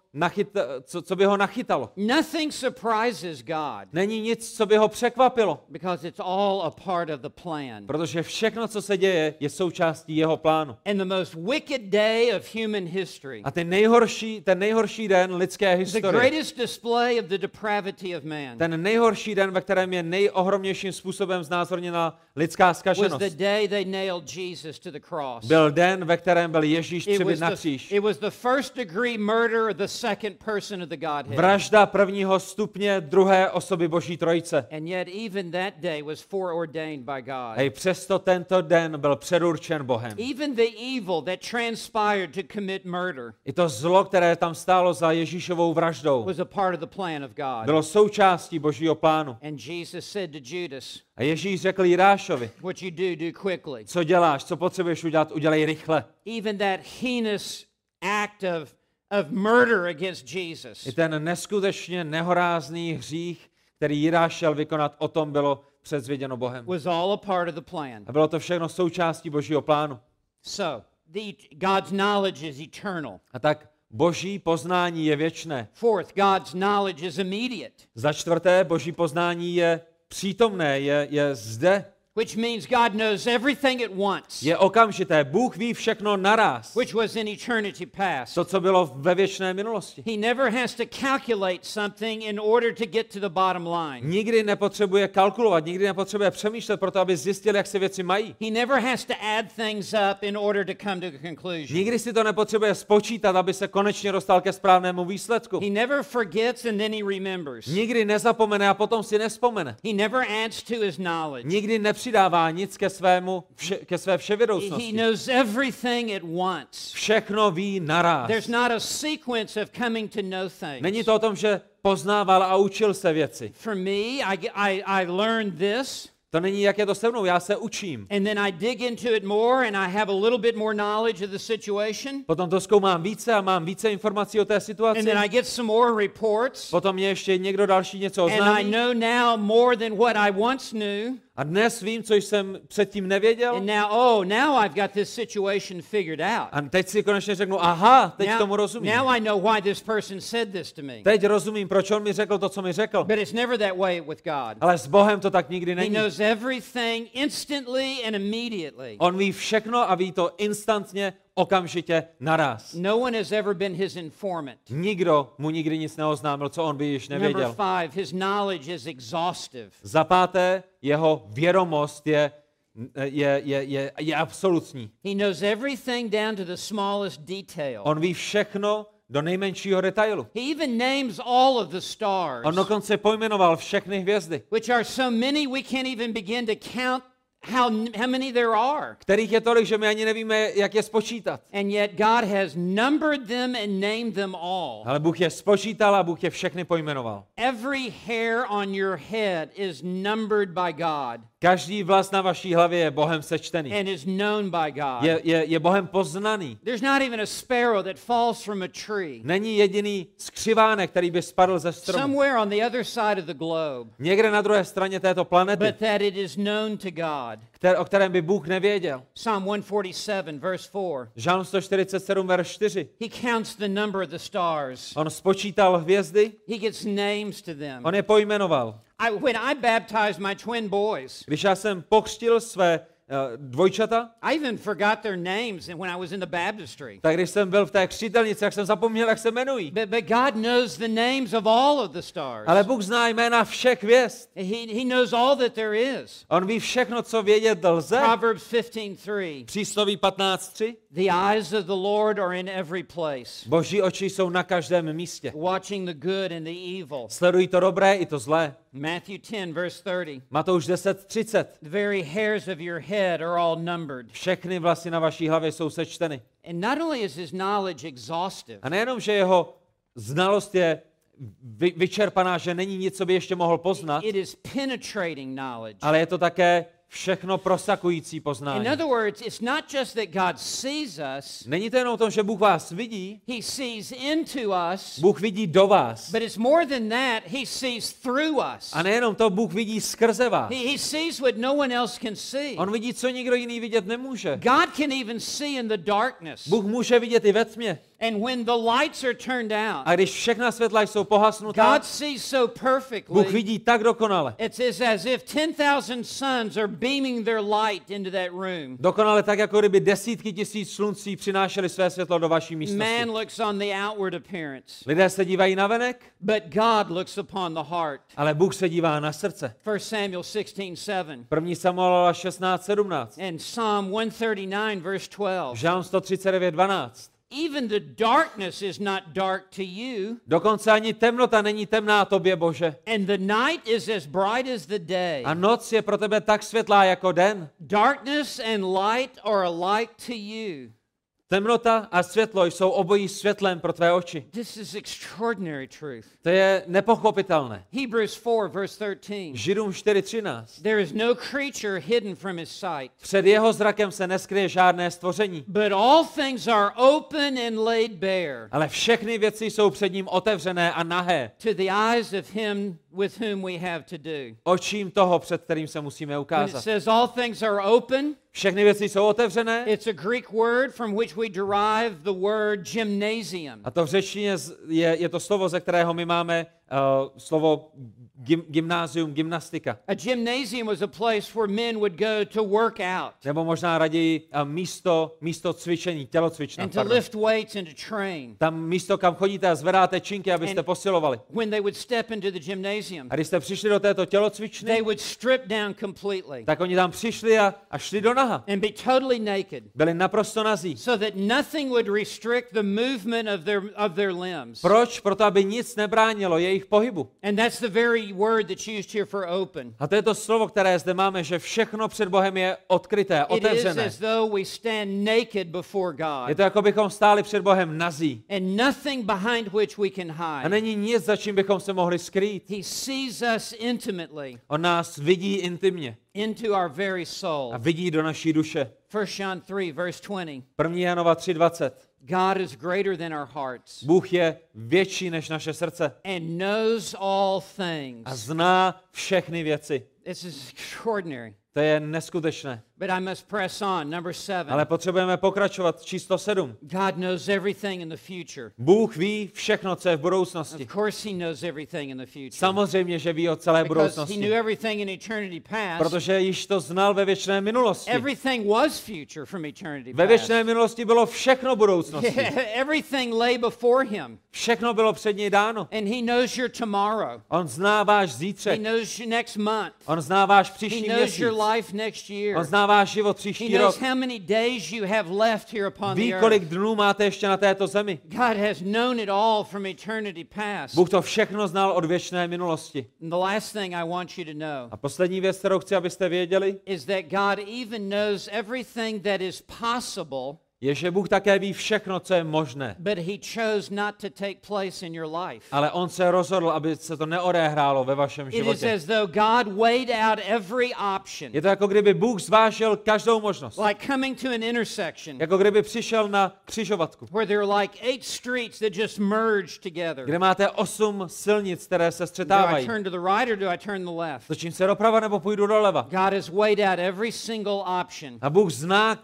by ho nachytalo. Nothing surprises God Není nic, co by ho překvapilo, because it's all a part of the plan. protože všechno, co se děje, je součástí jeho plánu. And the most wicked day of human history, A ten nejhorší den lidské the historie, greatest display of the depravity of man, ten nejhorší den, ve kterém je nejohromnějším způsobem znázorněna lidská was zkaženost, the day they nailed Jesus to the cross. byl den, ve kterém byl Ježíš It přibit na kříž. was the first degree murder of the second person of the Godhead. Vražda prvního stupně druhé osoby Boží trojice. And yet even that day was foreordained by God. A i přesto tento den byl předurčen Bohem. Even the evil that transpired to commit murder I to zlo, které tam stálo za Ježíšovou vraždou, was a part of the plan of God. bylo součástí Božího plánu. And Jesus said to Judas, A Ježíš řekl Jidášovi, what you do quickly. co děláš, co potřebuješ udělat, udělej rychle. Even that heinous act of murder against Jesus I ten neskutečně nehorázný hřích, který Jidáš šel vykonat, o tom bylo předvěděno Bohem. was all a part of the plan. A bylo to všechno součástí Božího plánu. So, God's knowledge is eternal. A tak Boží poznání je věčné. Fourth, God's knowledge is immediate. Za čtvrté, Boží poznání je přítomné, je zde. which means God knows everything at once, je okamžité. Bůh ví všechno naráz. which was in eternity past. To, co bylo ve věčné minulosti. He never has to calculate something in order to get to the bottom line. Nikdy nepotřebuje kalkulovat, nikdy nepotřebuje přemýšlet proto, aby zjistil, jak se věci mají. He never has to add things up in order to come to a conclusion. Nikdy si to nepotřebuje spočítat, aby se konečně dostal ke správnému výsledku. He never forgets and then he remembers. Nikdy nezapomene a potom si nevzpomene. He never adds to his knowledge. Nikdy nepřidává nic ke své He vševědoucnosti. knows everything at once. Všechno ví naráz. There's not a sequence of coming to know things. Není to o tom, že poznával a učil se věci. For me, I learned this. To není, jak je to se mnou, já se učím. And then I dig into it more and I have a little bit more knowledge of the situation. Potom to zkoumám více a mám více informací o té situaci. And then I get some more reports. Potom mě ještě někdo další něco And I oznámí. know now more than what I once knew. A dnes vím, co jsem předtím nevěděl. And now I've got this situation figured out. A teď si konečně řeknu, aha, teď tomu rozumím. Now I know why this person said this to me. Teď rozumím, proč on mi řekl to, co mi řekl. But it's never that way with God. Ale s Bohem to tak nikdy He není. knows everything instantly and immediately. On ví všechno a ví to instantně, okamžitě, naraz. No one has ever been his informant. Nikdo mu nikdy nic neoznámil, co on by již Number nevěděl. 5, his knowledge is exhaustive. Za páté, jeho vědomost je absolutní. He knows everything down to the smallest detail. On ví všechno do nejmenšího detailu. He even names all of the stars, On dokonce pojmenoval všechny hvězdy, which are so many we can't even begin to count how many there are. kterých je tolik, že my ani nevíme, jak je spočítat. And yet God has numbered them and named them all. Ale Bůh je spočítal a Bůh je všechny pojmenoval. Every hair on your head is numbered by God Každý vlas na vaší hlavě je Bohem sečtený. and is known by God. Je Bohem poznaný. There's not even a sparrow that falls from a tree. Není jediný skřivánek, který by spadl ze stromu. Somewhere on the other side of the globe, Někde na druhé straně této planety, but that it is known to God. o kterém by Bůh nevěděl. Psalm 147, verse 4. Žálm 147, verš 4. He counts the number of the stars. On spočítal hvězdy, He gets names to them. on je pojmenoval. When I baptized my twin boys, Když já jsem pokřtil své dvojčata, I even forgot their names when I was in the baptistry. tak když jsem byl v té křtitelnici, tak jsem zapomněl, jak se jmenují. But God knows the names of all of the stars. Ale Bůh zná jména všech hvězd. He knows all that there is. On ví všechno, co vědět lze. Proverbs 15:3. Přísloví 15:3. The eyes of the Lord are in every place, Boží oči jsou na každém místě. watching the good and the evil. Sledují to dobré i to zlé. Matthew 10, verse 30. Matouš 10:30. The very hairs of your head are all numbered. Všechny vlasy na vaší hlavě jsou sečteny. And not only is his knowledge exhaustive, A nejenom, že jeho znalost je vyčerpaná, že není nic, co by ještě mohl poznat, it is penetrating knowledge. ale je to také všechno prosakující In poznání. other words, it's not just that God sees us, Není to jenom o tom, že Bůh vás vidí, he sees into us, Bůh vidí do vás. but it's more than that, he sees through us. A nejenom to, Bůh vidí skrze vás. He sees what no one else can see. On vidí, co nikdo jiný vidět nemůže. God can even see in the darkness. Bůh může vidět i ve tmě. And when the lights are turned out, A když všechna světla jsou pohasnutá, God sees so Bůh perfectly. vidí tak dokonale. It's as if 10,000 suns are beaming their light into that room. Dokonale tak, jako kdyby desítky tisíc sluncí přinášely své světlo do vaší místnosti. Man looks on the outward appearance, Lidé se dívají na venek, but God looks upon the heart. ale Bůh se dívá na srdce. 1 Samuel 16:7 1. Samuela 16:17. and Psalm 139 verse 12. Žálm 139:12. Even the darkness is not dark to you, Dokonce ani temnota není temná tobě, Bože. and the night is as bright as the day. A noc je pro tebe tak světlá jako den. Darkness and light are alike to you. Temnota a světlo jsou obojí světlem pro tvé oči. This is extraordinary truth. To je nepochopitelné. Hebrews 4 verse 13. Židům 4:13. There is no creature hidden from his sight, Před jeho zrakem se neskryje žádné stvoření, but all things are open and laid bare ale všechny věci jsou před ním otevřené a nahé. to the eyes of him with whom we have to do. Očím toho, před kterým se musíme When it ukázat. says all things are open, Všechny věci jsou otevřené it's a Greek word from which we derive the word gymnasium. a to v řečtině je to slovo, ze kterého my máme slovo gymnázium, gymnastika. A gymnasium was a place where men would go to work out Nebo možná raději místo cvičení, tělocvična. and to lift weights and to train. Tam místo, kam chodíte a zvedáte činky, abyste posilovali. When they would step into the gymnasium, A když jste přišli do této tělocvičny, they would strip down completely tak oni tam přišli a šli do naha. and be totally naked, Byli naprosto nazí. so that nothing would restrict the movement of their limbs. Proč? Proto, aby nic nebránilo jejich pohybu. And that's the very word that's used here for open. A to je to slovo, které zde máme, že všechno před Bohem je odkryté, It is otevřené. as though we stand naked before Je God, to, jako bychom stáli před Bohem nazí. and nothing behind which we can A hide. není nic, za čím bychom se mohli skrýt. He sees us intimately On nás vidí intimně into our very soul. a vidí do naší duše. 1 John 3, verse 20. 1. Janova 3:20. God is greater than our hearts Bůh je větší než naše srdce and knows all a things. zná všechny věci. This is extraordinary. To je neskutečné. But I must press on. Number 7. Ale potřebujeme pokračovat. Číslo 7. God knows everything in the future. Bůh ví všechno, co je v budoucnosti. Of course he knows everything in the future. Samozřejmě, že ví o celé Because he budoucnosti. knew everything in eternity past. Protože již to znal ve věčné minulosti. Everything was future from eternity Ve past. věčné minulosti bylo všechno budoucnosti. Everything lay before him. Všechno bylo před něj dáno. And he knows your tomorrow. On zná váš He zítřek. knows your next month. On zná váš He příští knows měsíc. your life next year. On zná váš život He příští knows rok. how many days you have left here upon the Ví, earth. kolik dnů máte ještě na této zemi. God has known it all from eternity past. Bůh to všechno znal od věčné minulosti. And the last thing I want you to know A poslední věc, kterou chci, abyste věděli, is that God even knows everything that is possible, je, že Bůh také ví všechno, co je možné. but he chose not to take place in your life. Ale on se rozhodl, aby se to neodehrálo ve vašem It is životě. as though God weighed out every option. Je to jako kdyby Bůh zvážil každou možnost. Like coming to an intersection Jako kdyby přišel na křižovatku, where there are like 8 streets that just merge together. kde máte 8 silnic, které se Do I střetávají. turn to the right or do I turn to the left? Točím se doprava nebo půjdu doleva. God has weighed out every single option. A Bůh zná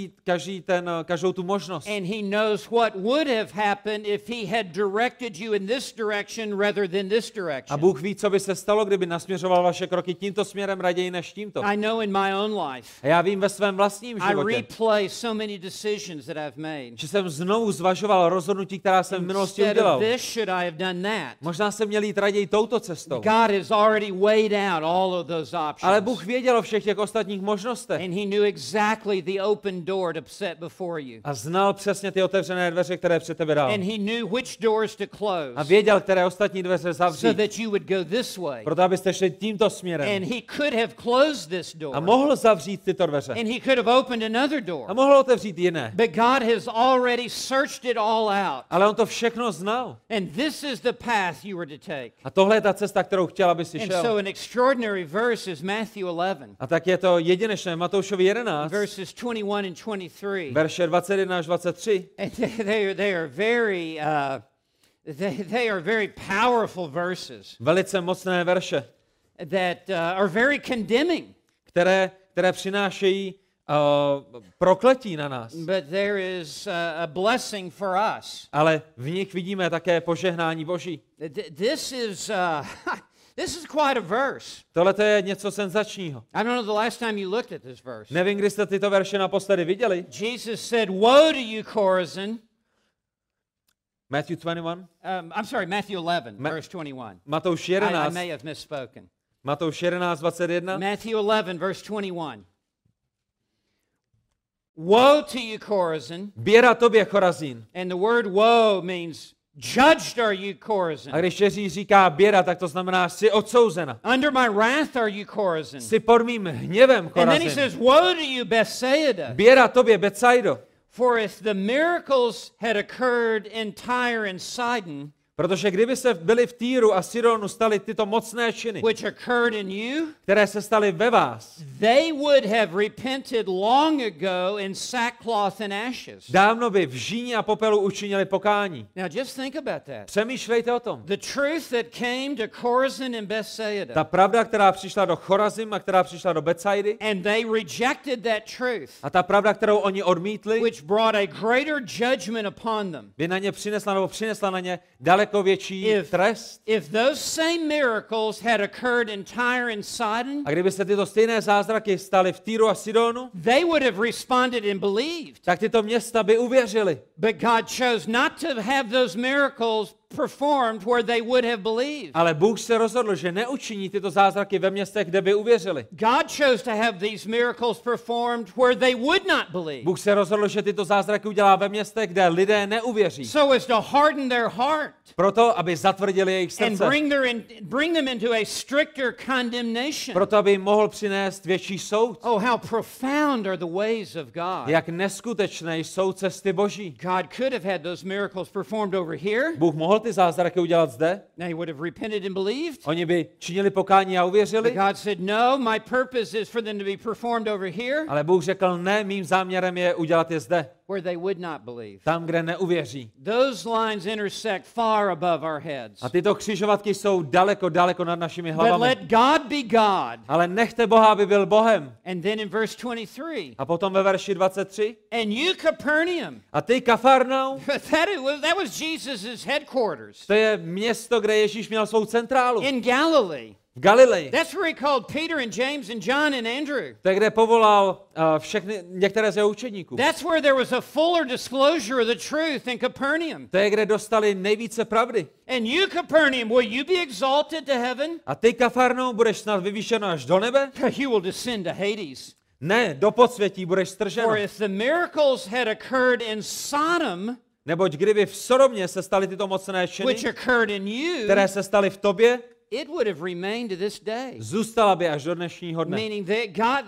každou tu možnost. And he knows what would have happened if he had directed you in this direction rather than this A direction. Bůh ví, co by se stalo, kdyby nasměřoval vaše kroky tímto směrem raději než tímto. I know in my own life, A já vím ve svém vlastním I životě, replay so many decisions that I've made. že jsem znovu zvažoval rozhodnutí, která jsem v minulosti Instead of udělal. this, should I have done that? Možná jsem měl jít raději touto cestou. God has already weighed out all of those Ale options. Bůh věděl o všech těch ostatních možnostech. And he knew exactly the open door to set before you. A znal přesně ty otevřené dveře, které před tebe dal. And he knew which doors to A close věděl, které ostatní dveře so zavřít, that you would go this way. proto abyste šli tímto směrem. And he could have closed this A door. mohl zavřít tyto dveře. And he could have opened another A door. mohl otevřít jiné. But God has already searched it all out. Ale on to všechno znal. And this is the path you were to take. A tohle je ta cesta, kterou chtěl, aby si And šel. so an extraordinary verse is Matthew 11, A tak je to jedinečné. Matoušovi 11, verses 21 and 23. verše 21 až 23. And they are very powerful verses Velice mocné verše, that are very condemning. které přinášejí prokletí na nás. But there is a blessing for us. Ale v nich vidíme také požehnání Boží. This is this is quite a verse. Tohle to je něco senzačního. I don't know the last time you looked at this verse. Nevím, kdy jste tyto verše naposledy viděli. Jesus said, "Woe to you, Chorazin." Matthew 21. I'm sorry, Matthew 11, verse 21. Matouš I 11. may have misspoken. Matouš 11, 21. Matthew 11, verse 21. Woe to you, Chorazin. Běda tobě, Chorazín. And the word woe means judged are you, Chorazin. A když Ježíš říká běda, tak to znamená, jsi odsouzena. Under my wrath are you, Chorazin. Jsi pod mým hněvem, And then he Chorazin. says, woe to you, Bethsaida. Běda tobě, Betsaido. For if the miracles had occurred in Tyre and Sidon, Protože kdyby se byli v Týru a Sidonu staly tyto mocné činy, which occurred in you, které se staly ve vás, they would have repented long ago in sackcloth and ashes. dávno by v žíni a popelu učinili pokání. Now just think about that. Přemýšlejte o tom. The truth that came to Chorazin and Bethsaida, Ta pravda, která přišla do Chorazim a která přišla do Betsaidy, and they rejected that truth, a ta pravda, kterou oni odmítli, which brought a greater judgment upon them. by na ně přinesla na ně daleko daleko větší trest. If those same miracles had occurred in Tyre and Sidon, A kdyby se tyto stejné zázraky staly v Týru a Sidonu, they would have responded and believed. tak tyto města by uvěřily. But God chose not to have those miracles performed where they would have believed. Ale Bůh se rozhodl, že neučiní tyto zázraky ve městech, kde by uvěřili. God chose to have these miracles performed where they would not believe. Bůh se rozhodl, že tyto zázraky udělá ve městech, kde lidé neuvěří. So as to harden their heart Proto, aby zatvrdili jejich and srdce. bring them into a stricter condemnation. Proto, aby jim mohl přinést větší soud. Oh, how profound are the ways of God. Jak neskutečné jsou cesty Boží. God could have had those miracles performed over here. Bůh mohl ty zázraky udělat zde. They would have repented and believed. Oni by činili pokání a But uvěřili. God said, no, my purpose is for them to be performed over here Ale Bůh řekl, ne, mým záměrem je udělat je zde. where they would not believe. Tam, kde neuvěří. Those lines intersect far above our heads. A tyto křižovatky jsou daleko, daleko nad našimi But hlavami. let God be God. Ale nechte Boha, aby byl Bohem. And then in verse 23, A potom ve verši 23. and you Capernaum, A ty, Kafarnaum, that was Jesus' headquarters to je město, kde Ježíš měl svou centrálu. in Galilee. V Galileji. That's where he called Peter and James and John and Andrew. To je, kde povolal některé z jeho učedníků. That's where there was a fuller disclosure of the truth in Capernaum. To je, kde dostali nejvíce pravdy. And you, Capernaum, will you be exalted to heaven? A ty, Kafarnaum, budeš snad vyvýšen až do nebe? You will descend to Hades. Ne, do podsvětí budeš stržen. For if the miracles had occurred in Sodom, Neboť kdyby v Sodomě se staly tyto mocné činy, which occurred in you, které se staly v tobě, it would have remained to this day. zůstala by až do dnešního dne. Meaning that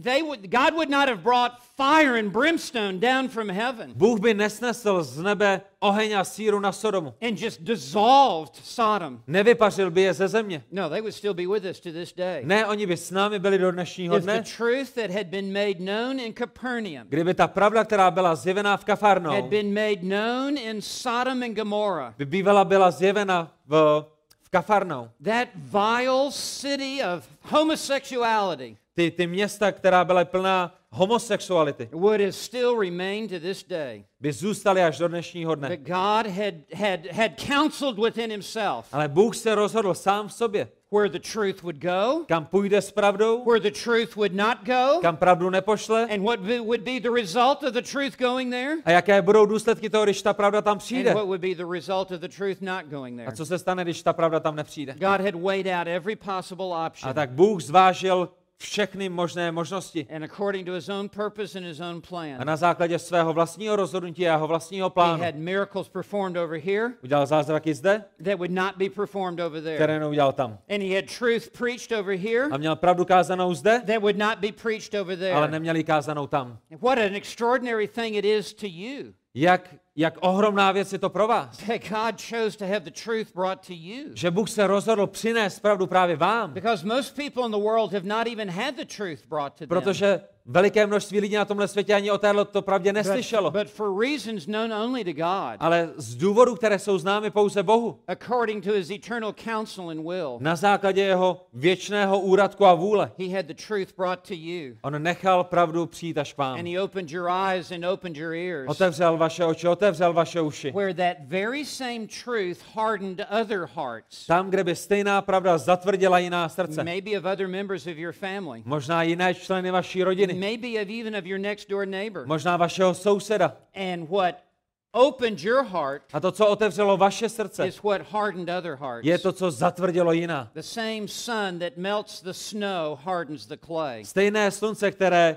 God would not have brought fire and brimstone down from heaven Bůh by nesnesl z nebe oheň a síru na Sodomu. and just dissolved Sodom. Nevypařil by je ze země. No, they would still be with us to this day. Ne, oni by s námi byli do dnešního If the dne. truth that had been made known in Capernaum Kdyby ta pravda, která byla zjevená v had Kafarnou, been made known in Sodom and Gomorrah, by bývala byla zjevena v Kafarnou. that vile city of homosexuality Ty města, která byla plná homosexuality, would have still remained to this day. by zůstaly až do dnešního dne. But God had counseled within himself Ale Bůh se rozhodl sám v sobě, where the truth would go, kam půjde s pravdou, where the truth would not go, kam pravdu nepošle and what would be the result of the truth going there, a jaké budou důsledky toho, když ta pravda tam přijde. and what would be the result of the truth not going A there. co se stane, když ta pravda tam nepřijde? God had weighed out every possible A option, tak Bůh zvážil všechny možné možnosti. and according to his own purpose and his own A plan, na základě svého vlastního rozhodnutí a jeho vlastního he plánu had miracles performed over here udělal zázraky zde, that would not be performed over there. které neudělal tam. And he had truth preached over here A měl pravdu kázanou zde, that would not be preached over ale there. neměl ji kázanou tam. What an extraordinary thing it is to you Jak ohromná věc je to pro vás, that God chose to have the truth brought to you. že Bůh se rozhodl přinést pravdu právě vám, Because most people in the world have not even had the truth brought to them. protože veliké množství lidí na tomhle světě ani o této pravdě neslyšelo. But for reasons known only to God, Ale z důvodů, které jsou známy pouze Bohu, according to his eternal counsel and will, na základě jeho věčného úradku a vůle, he had the truth brought to you. on nechal pravdu přijít až k vám. And he opened your eyes and opened your ears, Otevřel vaše oči, otevřel vaše uši. where that very same truth hardened other hearts, Tam, kde by stejná pravda zatvrdila jiná srdce. maybe of other members of your family, Možná jiné členy vaší rodiny. maybe even of your next door neighbor. Možná vašeho souseda. And what opened your heart A to, co otevřelo vaše srdce, is what hardened other hearts. je to, co zatvrdilo jiná. The same sun that melts the snow hardens the clay. Stejné slunce, které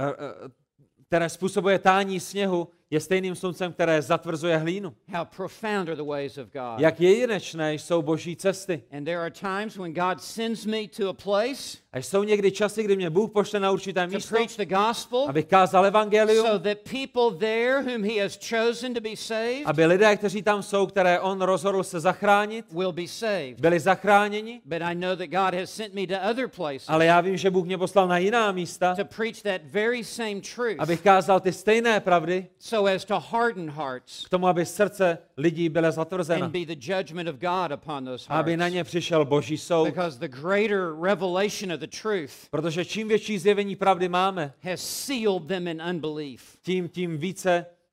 způsobuje tání sněhu, je stejným sluncem, které zatvrzuje hlínu. How profound are the ways of God. Jak jedinečné jsou Boží cesty. And there are times when God sends me to a place A jsou někdy časy, kdy mě Bůh pošle na určité to místo, preach the gospel abych kázal evangelium, so that people there whom he has chosen to be saved aby lidé, kteří tam jsou, které on rozhodl se zachránit, will be saved. byli zachráněni. But I know that God has sent me to other places Ale já vím, že Bůh mě poslal na jiná místa, to preach that very same truth abych kázal ty stejné pravdy, so as to harden hearts k tomu, aby srdce lidí bylo zatvrzeno. and be the judgment of God upon those Aby na hearts. ně přišel Boží soud. Because the greater revelation of the truth Protože čím větší zjevení pravdy máme, has sealed them in unbelief. tím více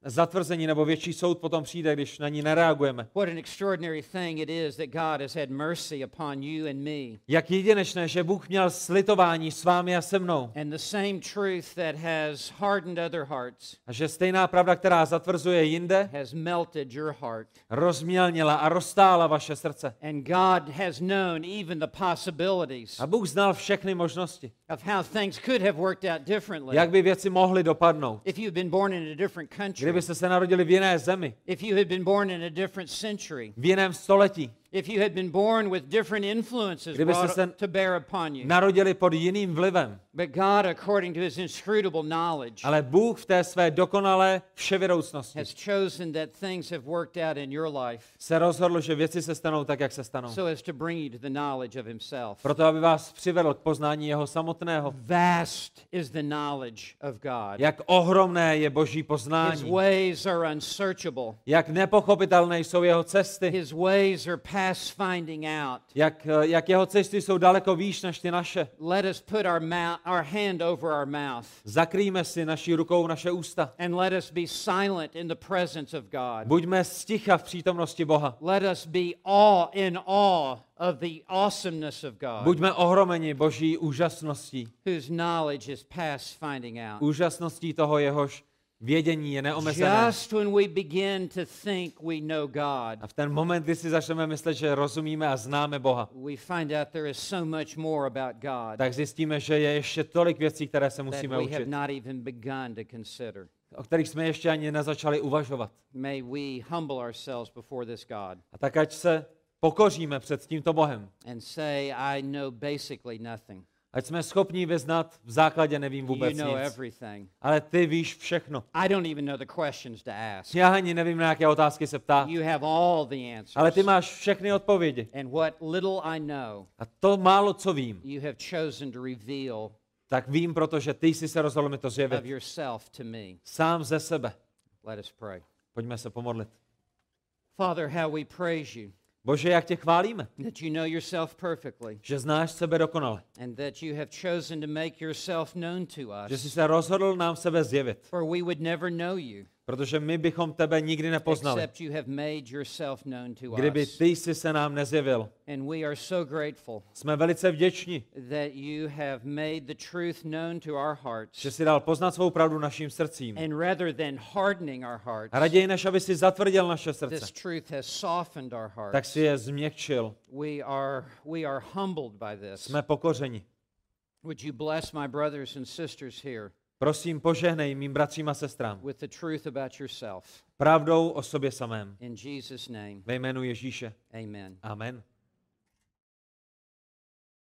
zatvrzení nebo větší soud potom přijde, když na ní nereagujeme. What an extraordinary thing it is that God has had mercy upon you and me. Jak jedinečné, že Bůh měl slitování s vámi a se mnou. And the same truth that has hardened other hearts A že stejná pravda, která zatvrzuje jinde, has melted your heart. rozmělnila a roztála vaše srdce. And God has known even the possibilities A Bůh znal všechny možnosti, of how things could have worked out differently. jak by věci mohly dopadnout. If you had been born in a different country, Kdybyste se narodili v jiné zemi, if you had been born in a different century, v jiném století, if you had been born with different influences Kdybyste brought se to bear upon you. narodili pod jiným vlivem. But God, according to his inscrutable knowledge, Ale Bůh v té své dokonalé vševědoucnosti has chosen that things have worked out in your life se rozhodl, že věci se stanou tak, jak se stanou. so as to bring you to the knowledge of himself. Proto, aby vás přivedl k poznání jeho samotného. Vast is the knowledge of God. Jak ohromné je Boží His poznání. ways are unsearchable. Jak nepochopitelné jsou jeho cesty. His ways are past finding out. Jak jeho cesty jsou daleko výš než ty naše. Let us put our hand over our mouth Zakrýjme si naší rukou naše ústa. and let us be silent in the presence of God. Buďme sticha v přítomnosti Boha. Let us be in awe of the awesomeness of God, Buďme ohromeni Boží úžasností. whose knowledge is past finding out. Úžasností toho, jehož vědění je neomezené. Just when we begin to think we know God, A v ten moment, kdy si začneme myslet, že rozumíme a známe Boha, we find out there is so much more about God tak zjistíme, že je ještě tolik věcí, které se that musíme we have učit, not even begun to consider. o kterých jsme ještě ani nezačali uvažovat. May we humble ourselves before this God A tak ať se pokoříme před tímto Bohem. and say, I know basically nothing. Ať jsme schopni vyznat, v základě nevím You vůbec know nic. everything. Ale ty víš všechno. I don't even know the questions to ask. Já ani nevím, na jaké otázky se ptát. You have all the Ale ty answers. máš všechny odpovědi. And what little I know, A to málo, co vím, you have chosen to reveal tak vím, protože ty jsi se rozhodl mi to of zjevit. yourself to me. Sám ze sebe. Let us pray. Pojďme se pomodlit. Father, how we praise you Bože, jak tě chválíme, that you know yourself perfectly že znáš sebe dokonale. and that you have chosen to make yourself known to Že jsi us. se rozhodl nám sebe zjevit. For we would never know you Protože my bychom tebe nikdy nepoznali, except you have made yourself known to kdyby us. ty jsi se nám nezjevil. And we are so grateful Jsme velice vděční, that you have made the truth known to our hearts. že jsi dal poznat svou pravdu našim srdcím. And rather than hardening our hearts, A raději, než aby si zatvrdil naše srdce, this truth has softened our tak hearts. si je změkčil. We are humbled by this. Jsme pokořeni. Would you bless my brothers and sisters here Prosím, požehnej mým bratřím a sestrám with the truth about yourself. pravdou o sobě samém. In Jesus' name, Ve jménu Ježíše. amen. Amen.